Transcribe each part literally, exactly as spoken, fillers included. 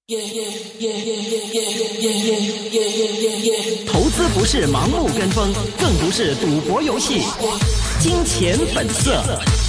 投资不是盲目跟风，更不是赌博游戏。金钱本色。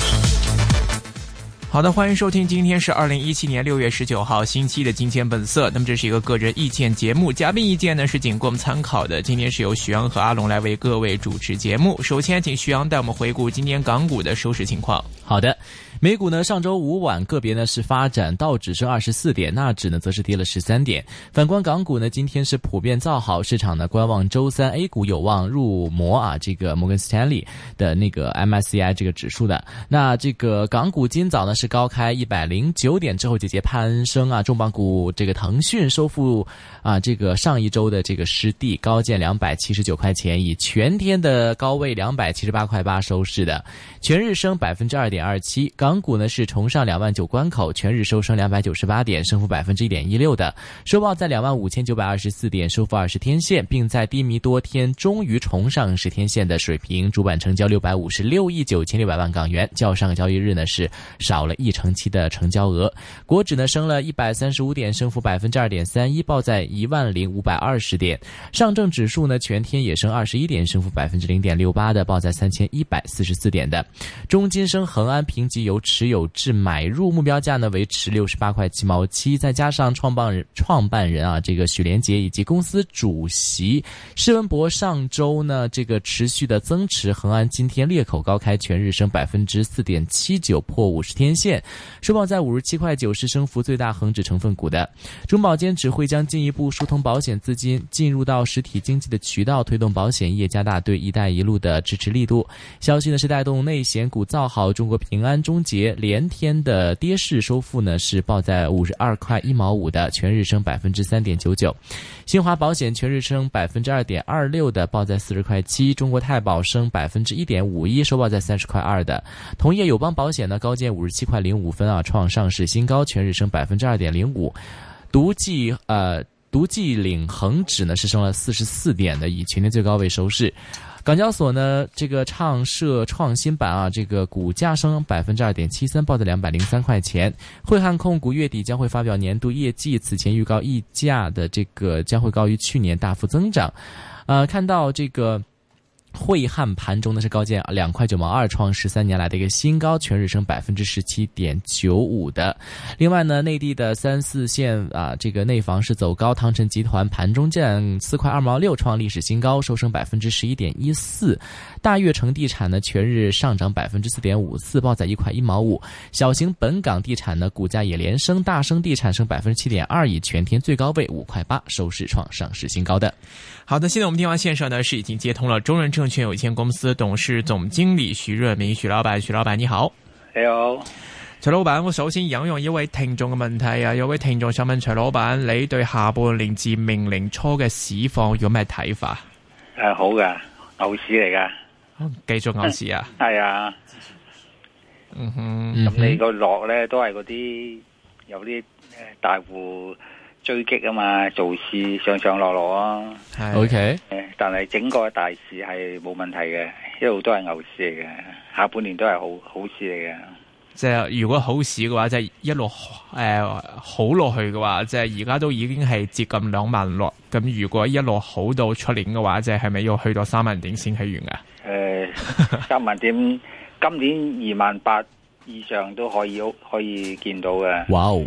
好的，欢迎收听，今天是二零一七年六月十九号星期一的金钱本色。那么这是一个个人意见节目，嘉宾意见呢是仅供参考的。今天是由徐阳和阿龙来为各位主持节目。首先请徐阳带我们回顾今天港股的收市情况。 好的，美股呢上周五晚个别呢是发展，道指升二十四点，纳指呢则是跌了十三点。反观港股呢，今天是普遍造好，市场呢观望周三 A 股有望入摩啊，这个摩根斯坦利的那个 M S C I 这个指数的。那这个港股今早呢是高开一百零九点之后节节攀升啊，重磅股这个腾讯收复啊这个上一周的这个失地，高见两百七十九块钱，以全天的高位两百七十八块八收市的，全日升百分之二点二七。港股呢是重上两万九关口，全日收升两百九十八点，升幅百分之一点一六的，收报在两万五千九百二十四点，收复二十天线，并在低迷多天终于重上十天线的水平。主板成交六百五十六亿九千六百万港元，较上个交易日呢是少了一成七的成交额。国指呢升了一百三十五点，升幅百分之二点三一，报在一万零五百二十点。上证指数呢全天也升二十一点，升幅百分之零点六八的，报在三千一百四十四点的。中金升恒安评级由持有至买入，目标价呢维持六十八块七毛七，再加上创办人创办人啊这个许连杰以及公司主席施文博上周呢这个持续的增持，恒安今天裂口高开，全日升百分之四点七九，破五十天线，收报在五十七块九，是升幅最大恒指成分股的。中保监指会将进一步疏通保险资金进入到实体经济的渠道，推动保险业加大对一带一路的支持力度。消息呢是带动内险股造好，中国平安、中捷连天的跌势收复呢是报在五十二块一毛五的，全日升百分之三点九九。新华保险全日升百分之二点二六的，报在四十块七。中国太保升百分之一点五一，收报在三十块二的。同业友邦保险呢高见五十七块零五分啊，创上市新高，全日升百分之二点零五。独计呃独计领恒指呢是升了四十四点的，以全天最高位收市。港交所呢，这个畅社创新板啊，这个股价升百分之二点七三，报在两百零三块钱。汇汉控股月底将会发表年度业绩，此前预告溢价的这个将会高于去年大幅增长。呃，看到这个汇汉盘中呢是高见两块九毛二，创十三年来的一个新高，全日升百分之十七点九五的。另外呢，内地的三四线啊，这个内房是走高，唐城集团盘中见四块二毛六，创历史新高，收升百分之十一点一四。大悦城地产呢全日上涨百分之四点五四，报在一块一毛五。小型本港地产呢股价也连升，大升地产升百分之七点二，以全天最高位五块八收市创上市新高的。 好的，现在我们电话线上呢是已经接通了中人证券有限公司董事總經理徐潤民，徐老闆，徐老闆你好。 你好， 徐老闆，我首先引用一位聽眾嘅問題啊，有位聽眾想問徐老闆，你對下半年至明年初嘅市況有咩睇法？ 誒，好噶，牛市嚟噶， 繼續牛市啊？ 係啊， 嗯哼， 咁你個落咧都係嗰啲有啲誒大戶追擊啊嘛，做市上上落落啊。 OK， 誒，但係整個大市係冇問題嘅，一路都係牛市嚟嘅，下半年都係好好市嚟嘅。 即係如果好市嘅話，即係一路誒、呃、好落去嘅話，即係而家都已經係接近兩萬落。咁如果一路好到出年嘅話，即係係咪要去到三萬點先起完噶？ 誒、呃，三萬點，今年二萬八以上都可以可以見到嘅。哇哦！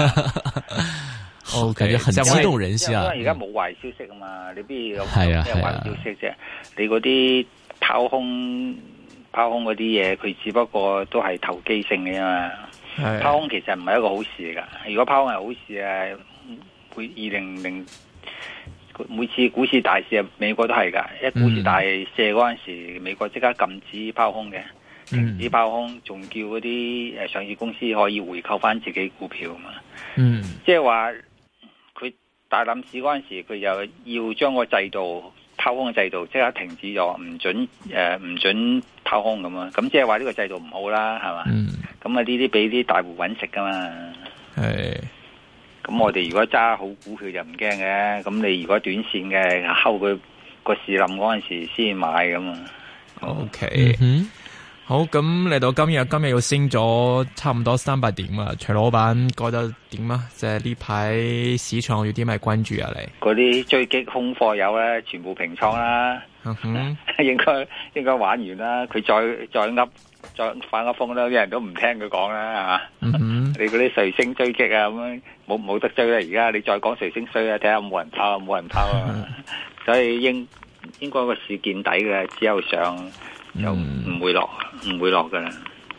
哦，感覺很激動人心啊！ 因為而家冇壞消息啊嘛，你邊有咩壞消息啫？你嗰啲拋空拋空嗰啲嘢，佢只不過都係投機性嘅嘛。拋空其實唔係一個好事嚟噶。如果拋空係好事啊，會二零零每次股市大市啊，美國都係噶。一股市大瀉嗰陣時，美國即刻禁止拋空嘅，停止拋空，仲叫嗰啲誒上市公司可以回購翻自己股票嘛。嗯，即係話。大冧市嗰陣時，佢又要將個制度拋空嘅制度即刻停止咗，唔准誒唔准拋空咁啊！咁即係話呢個制度唔好啦，係嘛？咁啊呢啲俾啲大戶搵食噶嘛。係。咁我哋如果揸好股票就唔驚嘅，咁你如果短線嘅，睺佢個市冧嗰陣時先買咁啊。 OK。嗯好，咁嚟到今日，今日又升咗差唔多三百點啊！徐老闆覺得點啊？即係呢排市場有啲咩關注啊？你嗰啲追擊空貨友咧，全部平倉啦， 嗯哼應該應該玩完啦。佢再再噏再反個風啦，啲人都唔聽佢講啦，係嘛？ 嗯哼你嗰啲瑞星追擊啊，咁樣冇冇得追啦！而家你再講瑞星衰啊，睇下冇人拋，冇人拋啊！嗯、所以應應該個市見底嘅，只有上。就唔會落，唔、嗯、會落噶啦。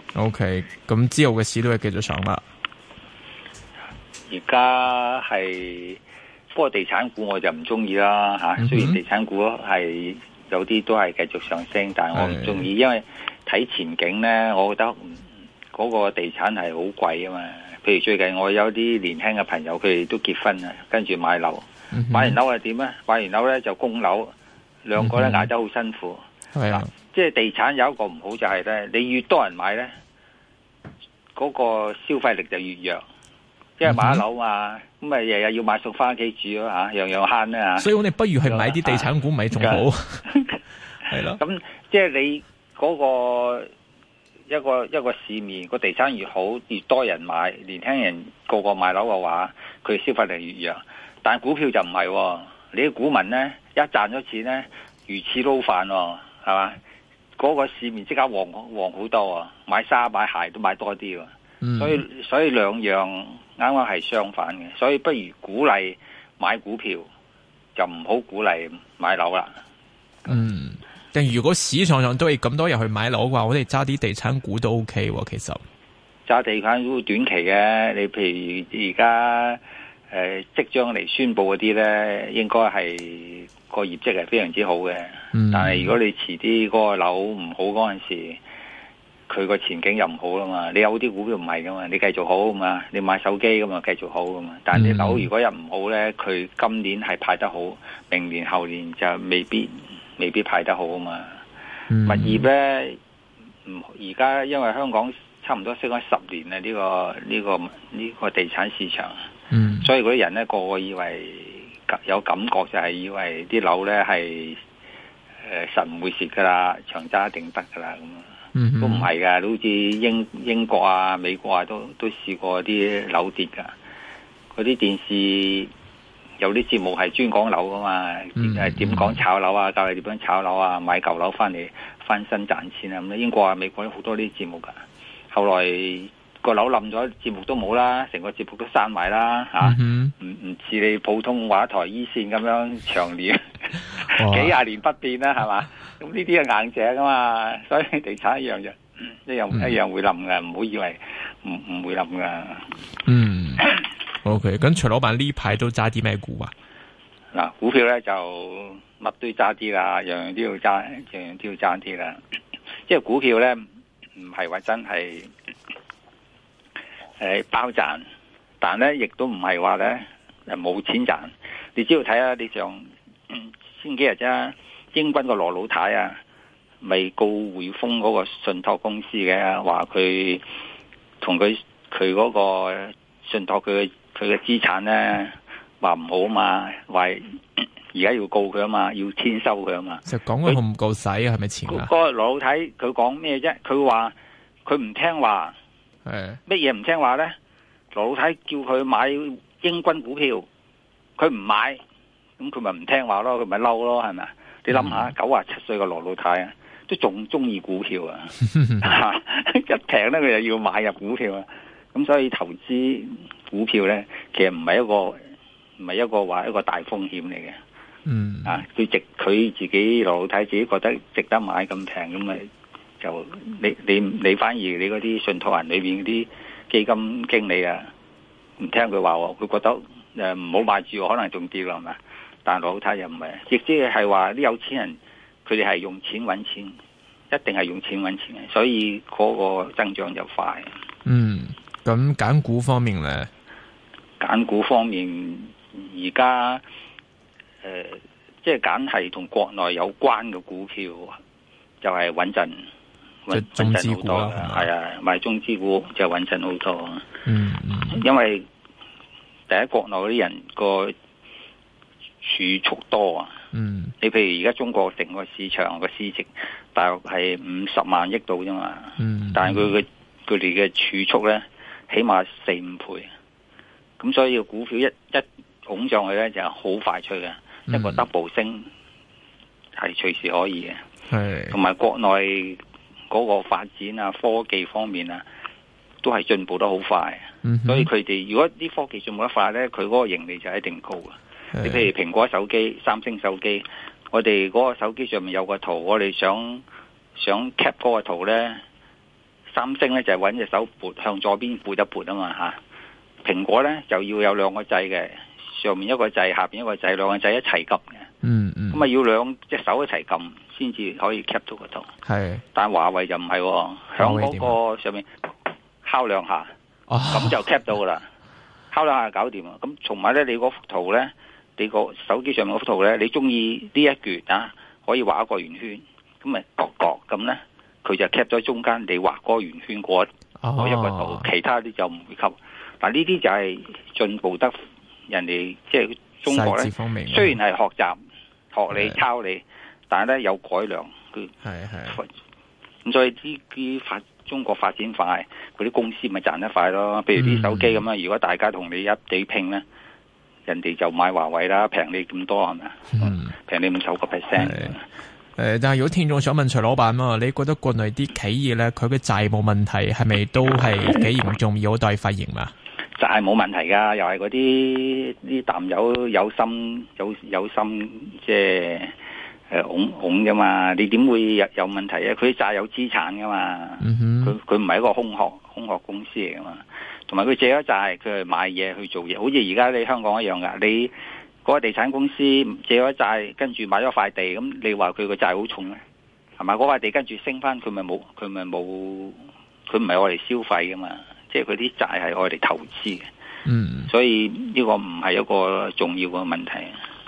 OK，咁之後嘅市都係繼續上啦。 而家係，不過地產股我就唔中意啦吓。雖然地產股係有啲都係繼續上升，但係我唔中意，因為睇前景咧，我覺得嗰個地產係好貴啊嘛。譬如最近我有啲年輕嘅朋友，佢哋都結婚啊，跟住買樓，嗯、買完樓係點咧？買完樓咧就供樓，兩個咧捱得好辛苦。係啊。即係地產有一個唔好就係咧，你越多人買咧，嗰、那個消費力就越弱。因為買樓嘛，咁咪日日要買餸翻屋企住咯吓，樣樣慳啦吓。所以我哋不如去買啲地產股，咪仲好。係咯。咁即係你嗰個一個一個市面個地產越好，越多人買，年輕人個個買樓嘅話，佢消費力越弱。但係股票就唔係、哦，你啲股民咧一賺咗錢咧，如此撈飯，係嘛？嗰、那個市面即刻旺旺好多啊！買衫買鞋都買多啲、嗯，所以所以兩樣啱啱係相反嘅，所以不如鼓勵買股票，就唔好鼓勵買樓啦。嗯， 但如果市場上都係咁多人去買樓嘅話，我哋揸啲地產股都 OK 喎。其實揸地產股短期嘅，你譬如而家誒即將嚟宣佈嗰啲咧，應該係。個業績係非常之好嘅、嗯，但係如果你遲啲嗰個樓唔好嗰陣時，佢個前景又唔好啦嘛。你有啲股票唔係噶嘛，你繼續好嘛，你買手機咁嘛，繼續好噶嘛。但係你樓如果又唔好咧，佢今年係派得好，明年後年就未必未必派得好啊嘛、嗯。物業咧，唔而家因為香港差唔多升咗十年啦，呢、這個呢、這個呢、這個地產市場，嗯、所以嗰啲人咧個個以為。有感覺就係以為啲樓咧係誒實唔會蝕噶啦，長揸一定得噶啦咁，都唔係噶，好似英英國啊、美國啊都都試過啲樓跌噶。嗰啲電視有啲節目係專講樓噶嘛，誒點講炒樓啊，教你點樣炒樓啊，買舊樓翻嚟翻身賺錢啊咁。英國啊、美國有好多啲節目噶，後來。個樓冧咗，節目都冇啦，成個節目都閂埋啦，吓，唔唔似你普通話台一線咁樣長年幾廿年不變啦，係嘛？咁呢啲係硬淨噶嘛，所以地產一樣就一樣、嗯、一樣會冧噶，唔好以為唔唔會冧噶。嗯，OK，咁徐老闆呢排都揸啲咩股啊？嗱，股票咧就乜都揸啲啦，樣樣都要揸，樣樣都要揸啲啦。即係股票咧，唔係話真係。誒，包賺，但咧亦都唔係話咧誒冇錢賺。你只要睇下，你上先幾日啫，英軍個羅老太啊，咪告匯豐嗰個信託公司嘅，話佢同佢佢嗰個信託佢佢嘅資產咧話唔好啊嘛，話而家要告佢啊嘛，要簽收佢啊嘛。就講佢唔夠使啊，係咪錢啊？嗰個羅老太佢講咩啫？佢話佢唔聽話。乜嘢唔聽話咧？羅老太叫佢買英軍股票，佢唔買，咁佢咪唔聽話咯？佢咪嬲咯？係咪？你諗下，九十七歲嘅羅老太啊，都仲中意股票啊！一平咧，佢就要買入股票啊！咁所以投資股票咧，其實唔係一個唔係一個話一個大風險嚟嘅。嗯啊，佢值佢自己羅老太自己覺得值得買咁平咁咪。就你你你反而你嗰啲信託人裏邊嗰啲基金經理啊，唔聽佢話，佢覺得誒唔好買住，可能仲跌啦，係咪？但係老太又唔係，亦即係話啲有錢人，佢哋係用錢揾錢，一定係用錢揾錢嘅，所以嗰個增長就快。嗯，咁揀股方面咧，揀股方面而家誒，即係揀係同國內有關嘅股票，就係穩陣。即中資股啦，係啊，買中資股就穩陣好多。嗯嗯，因為第一國內嗰啲人個儲蓄多啊， 嗯， 你譬如而家中國整個市場個市值大約係五十萬億度啫嘛。 嗯， 但係佢嘅佢哋嘅儲蓄咧，起碼四五倍。咁所以個股票一一拱上去咧，就好快脆嘅，嗯、一個 double 升係隨時可以嘅。係，同埋國內嗰個發展啊，科技方面啊，都係進步得好快。嗯、所以佢哋如果啲科技進步得快咧，佢嗰個盈利就一定高嘅。你譬如蘋果手機、三星手機，我哋嗰個手機上面有個圖，我哋想想 cap 嗰個圖咧，三星咧就係揾隻手撥向左邊撥一撥啊嘛吓，蘋果咧就要有兩個掣嘅，上面一個掣，下邊一個掣，兩個掣一齊撳嘅。嗯嗯，咁啊要兩隻手一齊撳先至可以 cap 到個圖。係，但係華為就唔係、哦，響嗰個上面敲兩下，咁、哦、就 cap 到噶啦，敲兩下搞掂啊！咁同埋咧，你嗰幅圖咧。你個手機上面嗰幅圖咧，你中意呢一橛啊，可以畫一個圓圈，咁咪角角咁咧，佢就 cap 咗中間你畫嗰個圓圈嗰嗰一個圖，哦、其他啲就唔會吸。但呢啲就係進步得人哋即係中國咧，雖然係學習學你抄你，但係咧有改良。佢係係咁，所以呢啲發中國發展快，嗰啲公司咪賺得快咯。譬如啲手機咁樣，如果大家同你一地拼咧。人哋就買華為啦，平你咁多係咪啊？平、嗯、你五十個 percent。 誒，但係如果聽眾想問徐老闆啊，你覺得國內啲企業咧，佢嘅債務問題係咪都係幾嚴重，有待發現嘛？ 債冇問題噶，又係嗰啲啲淡友有心有有心即係誒拱拱噶嘛？你點會有有問題啊？佢債有資產噶嘛？佢佢唔係一個空殼空殼公司嚟噶嘛？同埋佢借咗債，佢係買嘢去做嘢，好似而家你香港一樣噶。你嗰個地產公司借咗債，跟住買咗塊地，咁你話佢個債好重咧，係咪？嗰塊地跟住升翻，佢咪冇，佢咪冇，佢唔係我哋消費噶嘛，即係佢啲債係我哋投資嘅。嗯，所以呢個唔係一個重要嘅問題。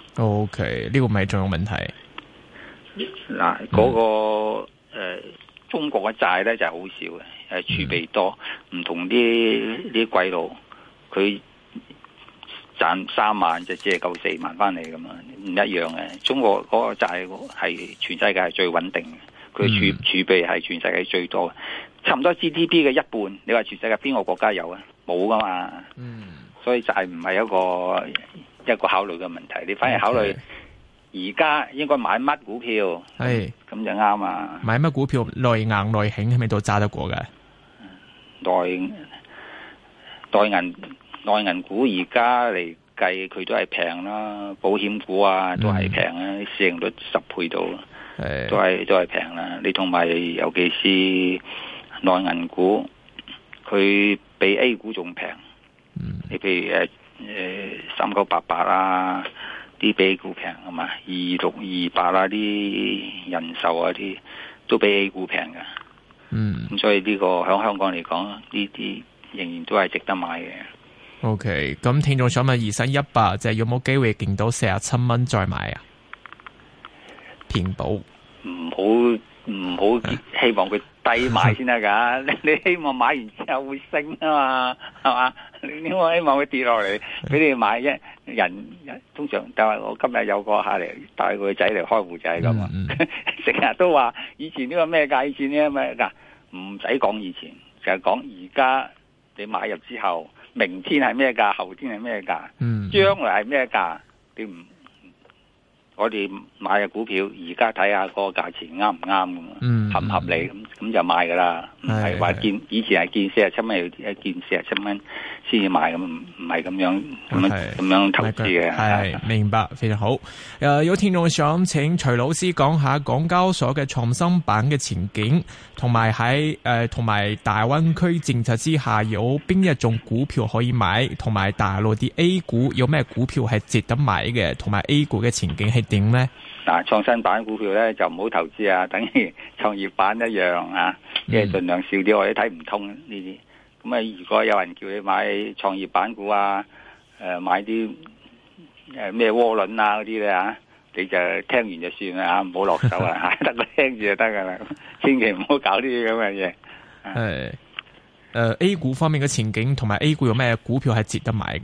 O K， 呢個唔係重要問題。 嗱，嗰個誒、呃，中國嘅債咧就係好少嘅。誒，儲備多，唔同啲啲鬼佬，佢賺三萬就借夠四萬翻嚟咁嘛，唔一樣嘅。中國嗰個債係全世界係最穩定嘅，佢儲儲備係全世界最多嘅，差唔多 G D P 嘅一半。你話全世界邊個國家有啊？冇噶嘛。嗯，所以債唔係一個一個考慮嘅問題，你反而考慮而家應該買乜股票，係咁就啱啊。 買乜股票內硬內險係咪都揸得過嘅？ 內內銀內銀股而家嚟計，佢都係平啦，保險股啊都係平啊，嗯、市盈率十倍到，都係都係平啦。你同埋尤其是內銀股，佢比 A 股仲平。嗯、你譬如誒誒三九八八啊，啲比 A 股平啊嘛，二六二八啊啲人壽啊啲都比 A 股平噶。嗯，咁所以呢個喺香港嚟講，呢啲仍然都係值得買嘅。 O K， 咁聽眾想問二三一八，就係有冇機會見到四十七蚊再買啊？平保唔好唔好希望佢低買先得噶，你你希望買完之後會升啊嘛，係嘛？你我希望佢跌落嚟俾你買啫。人通常就係我今日有個客嚟帶個仔嚟開戶仔咁嘛，成日都話以前呢個咩價，以前呢個咩價，唔使講以前，就係講而家你買入之後，明天係咩價，後天係咩價，嗯，將來係咩價，你唔？我哋買嘅股票，而家睇下個價錢啱唔啱咁，嗯、合唔合理咁，咁就買噶啦。唔係話見以前係見四十七蚊，一見四十七蚊先至買咁，唔係咁樣咁樣咁樣投資嘅。 係明白，非常好。誒、呃，有聽眾想請徐老師講下港交所嘅創新板嘅前景，同埋喺誒同埋大灣區政策之下有邊一種股票可以買，同埋大陸啲 A 股有咩股票係值得買嘅，同埋 A 股嘅前景係點咧？ 嗱，創新板股票咧就唔好投資啊，等於創業板一樣啊，即係盡量少啲，我哋睇唔通呢啲。咁啊，如果有人叫你買創業板股啊，誒、呃，買啲誒咩渦輪啊嗰啲咧啊，你就聽完就算啦，唔好落手啊，得個聽住就得噶啦，千祈唔好搞呢啲咁嘅嘢。係，誒、 呃、A 股方面嘅前景同埋 A 股有咩股票係值得買嘅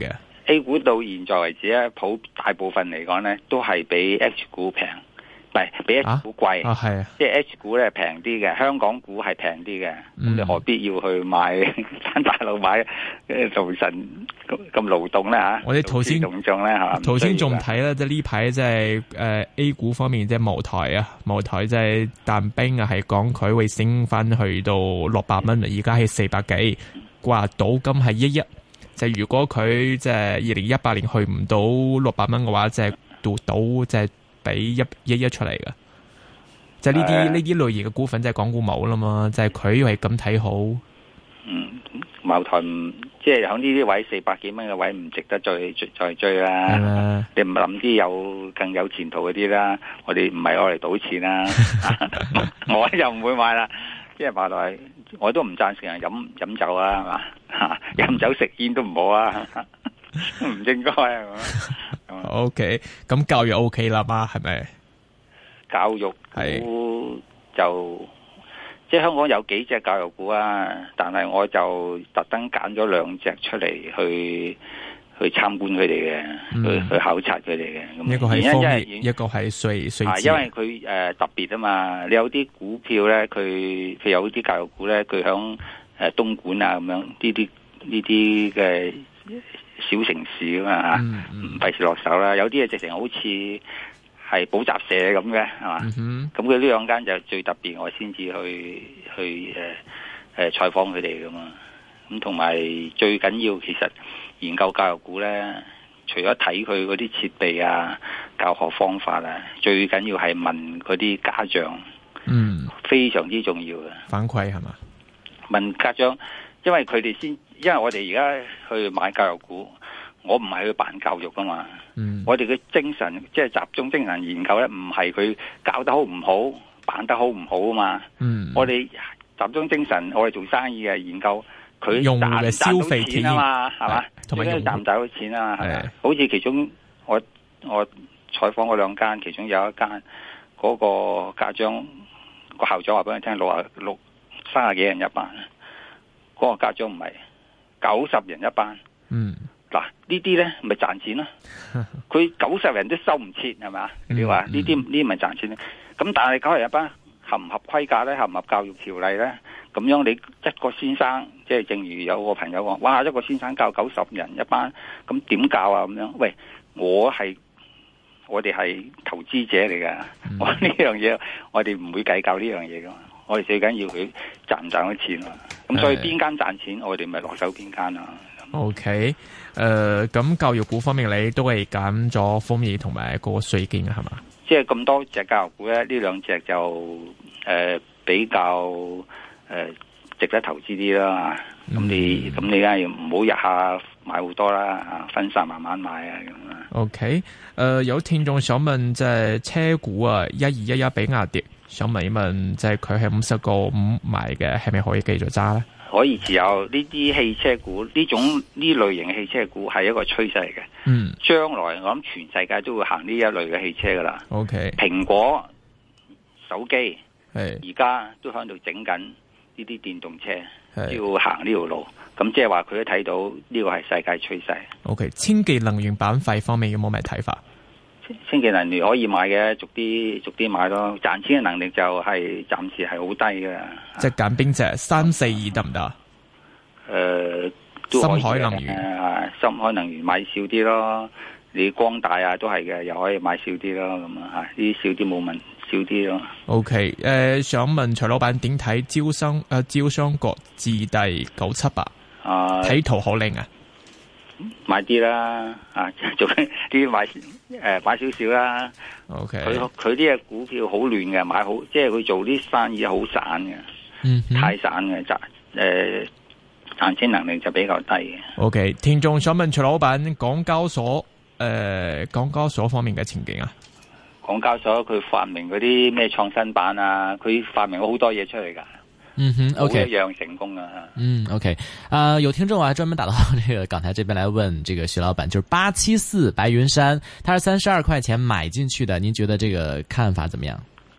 A 股到現在為止咧，普大部分嚟講咧，都係比 H 股平，唔係比 H 股貴。 啊，係啊， 即係 H 股咧平啲嘅，香港股係平啲嘅。咁、嗯、你何必要去買翻大陸買？做神咁咁勞動咧嚇？ 我哋頭先動眾咧嚇， 頭先仲睇啦，即係呢排即係誒 A 股方面，即係茅台啊，茅台即係淡冰啊，係講佢會升翻去到六百蚊，而家係四百幾。話賭金係一億，就係如果佢即係二零一八年去唔到六百蚊嘅話，即係賭賭即係俾一一億出嚟嘅。即係呢啲呢啲類型嘅股份，即係港股冇啦嘛，就係佢係咁睇好。 嗯，茅台唔即係喺呢啲位四百幾蚊嘅位唔值得再再追啦。 嗯、 你唔諗啲有更有前途嗰啲啦。我哋唔係攞嚟賭錢啦，我又唔會買啦。即係茅台。我都唔贊成人飲飲酒啊，係嘛？吓，飲酒食煙都唔好啊，唔應該係嘛 ？O K，咁教育 O K 啦嘛，係咪？ 教育股就即係香港有幾隻教育股啊，但係我就特登揀咗兩隻出嚟去去參觀佢哋嘅，去去考察佢哋嘅。咁一個係方面，一個係稅稅因為佢誒、呃、特別啊嘛，你有啲股票咧，佢譬如有啲教育股咧，佢響誒東莞啊咁樣呢啲呢啲嘅小城市啊嘛吓，唔費事落手啦。有啲嘢直情好似係補習社咁嘅，係嘛？咁佢呢兩間就最特別，我先至去去誒誒採訪佢哋噶嘛。咁同埋最緊要，其實研究教育股咧，除咗睇佢嗰啲設備啊、教學方法啊，最緊要係問嗰啲家長，嗯，非常之重要嘅反饋係嘛？ 問家長，因為佢哋先，因為我哋而家去買教育股，我唔係去辦教育噶嘛，嗯，我哋嘅精神即係集中精神研究咧，唔係佢教得好唔好、辦得好唔好啊嘛，嗯，我哋集中精神，我哋做生意嘅研究。佢用嘅消費錢啊嘛，係嘛？ 同埋賺唔賺到錢啊？係咪？好似其中我我採訪嗰兩間，其中有一間嗰個家長個校長話俾你聽，六啊六三十幾人一班，嗰個家長唔係九十人一班。嗯，嗱呢啲咧咪賺錢咯？佢九十人都收唔切，係咪？你話呢啲呢啲咪賺錢咧？咁但係九十人一班合唔合規格咧？合唔合教育條例咧？咁樣你一個先生，即係正如有個朋友講，哇！一個先生教九十人一班，咁點教啊？咁樣，喂，我係我哋係投資者嚟噶，嗯、我呢樣嘢我哋唔會計較呢樣嘢噶嘛，我哋最緊要佢賺唔賺到錢啊！咁所以邊間賺錢，我哋咪落手邊間啊。 O K，誒，咁教育股方面你都係揀咗豐業同埋個瑞建係嘛？ 即係咁多隻教育股咧，呢兩隻就誒、呃、比較。誒、呃，值得投資啲啦，咁、嗯、你咁你梗係唔好日下買好多啦，分散慢慢買啊咁啊。 OK，誒、呃，有聽眾想問，即係車股啊，一二一一比亞迪，想問一問，即係佢係五十個五買嘅，係咪可以繼續揸咧？ 可以持有呢啲汽車股，呢種呢類型嘅汽車股係一個趨勢嚟嘅。嗯，將來我諗全世界都會行呢一類嘅汽車噶啦。OK，蘋果手機係而家都喺度整緊。呢啲電動車要行呢條路，咁即係話佢都睇到呢個係世界趨勢。 O K，清潔能源板塊方面有冇咩睇法？ 清潔能源可以買嘅，逐啲逐啲買咯。賺錢嘅能力就係暫時係好低嘅。 即係揀邊隻？三四二得唔得？ 誒， 深海能源啊，深海能源買少啲咯。你光大啊都係嘅，又可以買少啲咯。咁啊，呢啲少啲冇問題。少啲咯。 O K，誒，想問徐老闆點睇招商誒招商局置地九七八啊？睇圖好靚啊， 買啲啦，啊，做啲買誒、呃、買少少啦。 O K， 佢佢啲嘅股票好亂嘅，買好即係佢做啲生意好散嘅，嗯，太散嘅賺誒賺錢能力就比較低嘅。 O K，聽眾想問徐老闆港交所誒、呃、港交所方面嘅前景啊？ 港交所佢發明嗰啲咩創新板啊，佢發明咗好多嘢出嚟噶。 嗯哼 ，OK， 一樣成功啊。 嗯 ，OK， 啊、呃，有聽眾啊專門打到這個港台這邊來問這個徐老闆，就是八七四白雲山，他是三十二塊錢買進去的，您覺得這個看法怎麼樣？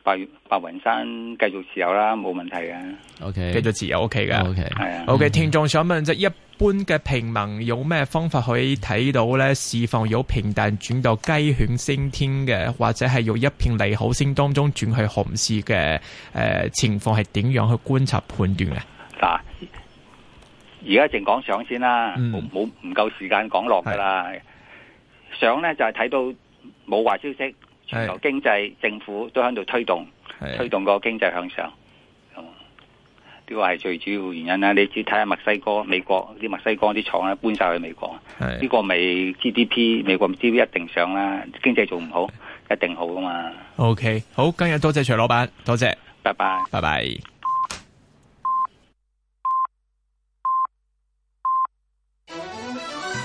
白白雲山繼續持有啦，冇問題嘅。 O K， 繼續持有 O K 嘅。O K 係啊。 O K， 聽眾想問，即係一般嘅平民有咩方法可以睇到咧？市況由平淡轉到雞犬升天嘅，或者係由一片利好聲當中轉去熊市嘅誒情況係點樣去觀察判斷嘅？ 嗱，而家淨講上先啦，冇冇唔夠時間講落噶啦。上咧就係、是、睇到冇壞消息。全球經濟政府都喺度推動，推動個經濟向上，呢個係最主要原因啦。你只睇下墨西哥、美國啲墨西哥啲廠咧搬晒去美國，呢、這個咪 G D P 美國 G D P 一定上啦。經濟做唔好，一定好噶嘛。 OK， 好，今日多謝徐老闆，多謝， 拜拜， 拜拜。